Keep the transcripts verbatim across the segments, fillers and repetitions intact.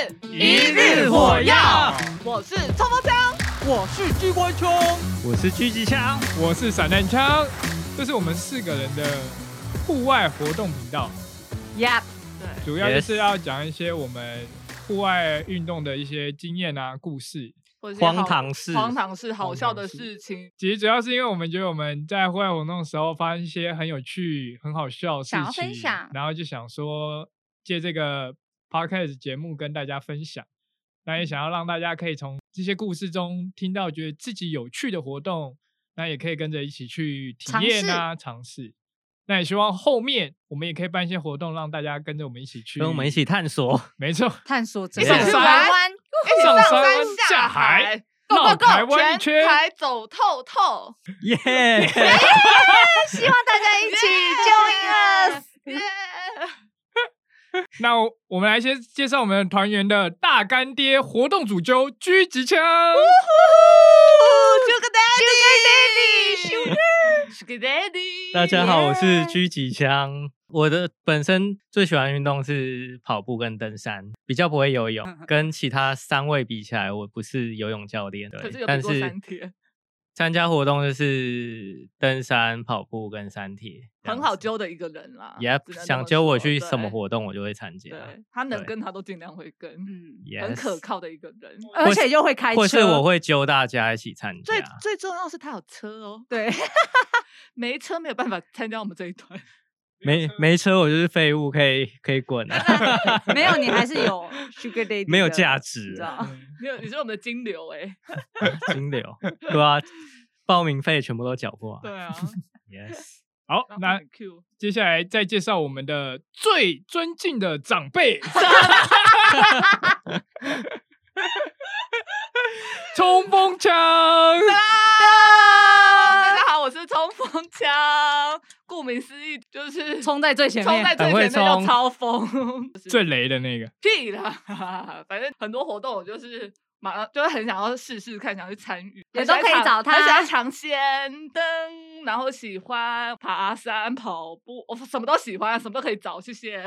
一日火药， 我是冲锋枪， 我是机关枪， 我是狙击枪， 我是散弹枪。这是我们四个人的户外活动频道。 Yep， 对，主要就是要讲一些我们户外运动的一些经验啊、故事。 荒唐事， 荒唐事，好笑的事情。 其实主要是因为我们觉得我们在户外活动的时候发生一些很有趣、很好笑的事情， 想要分享， 然后就想说借这个 podcast 节目跟大家分享。那也想要让大家可以从这些故事中听到觉得自己有趣的活动，那也可以跟着一起去体验啊、尝试。那也希望后面我们也可以办一些活动，让大家跟着我们一起去， 跟我们一起探索。 没错， 探索这个台湾。上山下海，绕台湾一圈， 全台走透透， 耶！ 希望大家一起 join us， 耶！ 那我们来先介绍我们团员的大干爹活动主揪狙击枪 ，Sugar Daddy，Sugar Daddy， 大家好，我是狙击枪。我的本身最喜欢运动是跑步跟登山，比较不会游泳。跟其他三位比起来，我不是游泳教练，对， 可是有比过三铁。 参加活动就是登山、跑步跟三铁， 很好揪的一个人啦。 Yep， 想揪我去什么活动，我就会参加。 对，他能跟他都尽量会跟，嗯， yes， 很可靠的一个人， 而且又会开车， 或是我会揪大家一起参加。 最最重要是他有车哦，对，没车没有办法参加我们这一团。 没没车，我就是废物，可以可以滚啊！ 没有，你还是有 Sugar Daddy， 没有价值， 没有，你是我们的金流哎、 欸，金流，对啊，报名费全部都缴过、啊， 对啊 ，yes。 好，那接下来再介绍我们的最尊敬的长辈，冲锋枪。 大家好，我是冲锋枪。顾名思义，就是冲在最前面， 冲在最前面要超疯， 最雷的那个。 屁啦，反正很多活动我就是马上就是很想要试试看，想去参与， 也都可以找他。 很喜欢尝鲜登，然后喜欢爬山、跑步，我什么都喜欢，什么都可以找，谢谢。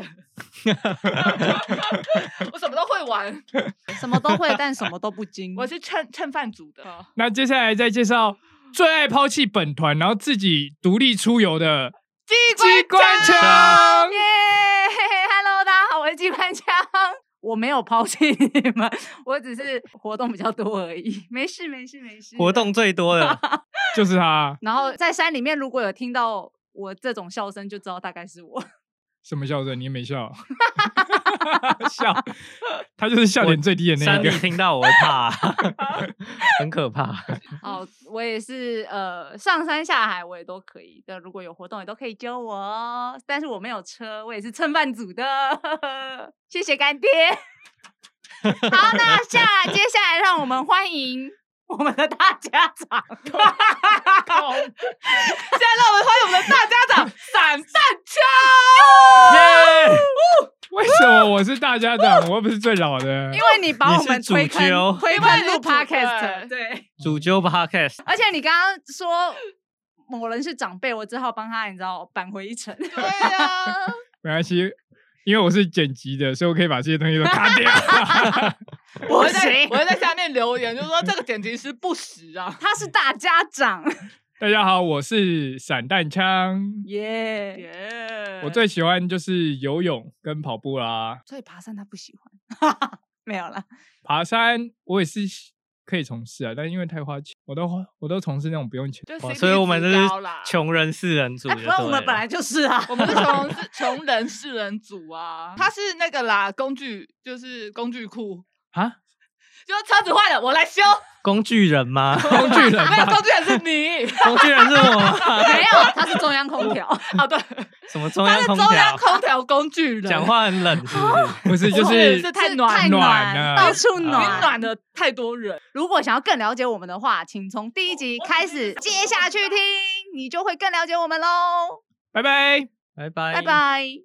我什么都会玩， 什么都会，但什么都不精。 我是蹭蹭饭组的。 那接下来再介绍最爱抛弃本团，然后自己独立出游的机关枪。 耶 ！Hello， 大家好，我是机关枪。我没有抛弃你们，我只是活动比较多而已。没事，没事，没事。 活动最多的就是他。 然后在山里面，如果有听到我这种笑声，就知道大概是我。 什么笑声？你也没笑，笑，他就是笑点最低的那个。 山里听到我会怕，很可怕。 哦，我也是，呃，上山下海我也都可以的，如果有活动也都可以揪我哦。但是我没有车，我也是蹭饭组的，谢谢干爹。好，那下接下来让我们欢迎我们的大家长。 现在让我们欢迎我们的大家长散弹枪。 耶！为什么我是大家长？我又不是最老的。 因为你把我们推坑，推坑入 podcast， 对， 主揪 podcast。 而且你刚刚说某人是长辈，我只好帮他，你知道，扳回一城。 对啊， 没关系。因为我是剪辑的，所以我可以把这些东西都卡掉。 我会在我会在下面留言，就说这个剪辑师不实啊， 他是大家长。 大家好，我是散弹枪。 耶耶！ 我最喜欢就是游泳跟跑步啦。 所以爬山他不喜欢，没有啦。 爬山我也是可以从事啊，但因为太花钱，我都我都从事那种不用钱。 所以我们就是穷人四人组。 不然我们本来就是啊， 我们是穷穷人四人组啊。他是那个啦，工具就是工具库啊， 就车子坏了我来修。 工具人吗？ 工具人没有，工具人是你， 工具人是我吗？ 没有，他是中央空调。 啊，对， 什么中央空调？ 他是中央空调工具人， 讲话很冷，是不是？ 不是，就是是太暖太暖了， 到处暖， 暖的太多人。 如果想要更了解我们的话，请从第一集开始接下去听，你就会更了解我们喽。 拜拜， 拜拜， 拜拜。